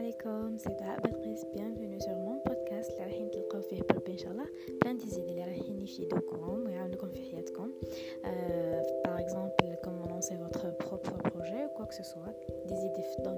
عليكم، سي دعاء بلقيس. bienvenue sur mon podcast اللي رايحين تلقاو فيه بربي ان شاء الله بلان ديزيد اللي رايحين يفيدوكم ويعاونوكم في حياتكم. par exemple comment lancer votre propre projet ou quoi que ce soit, des idées dans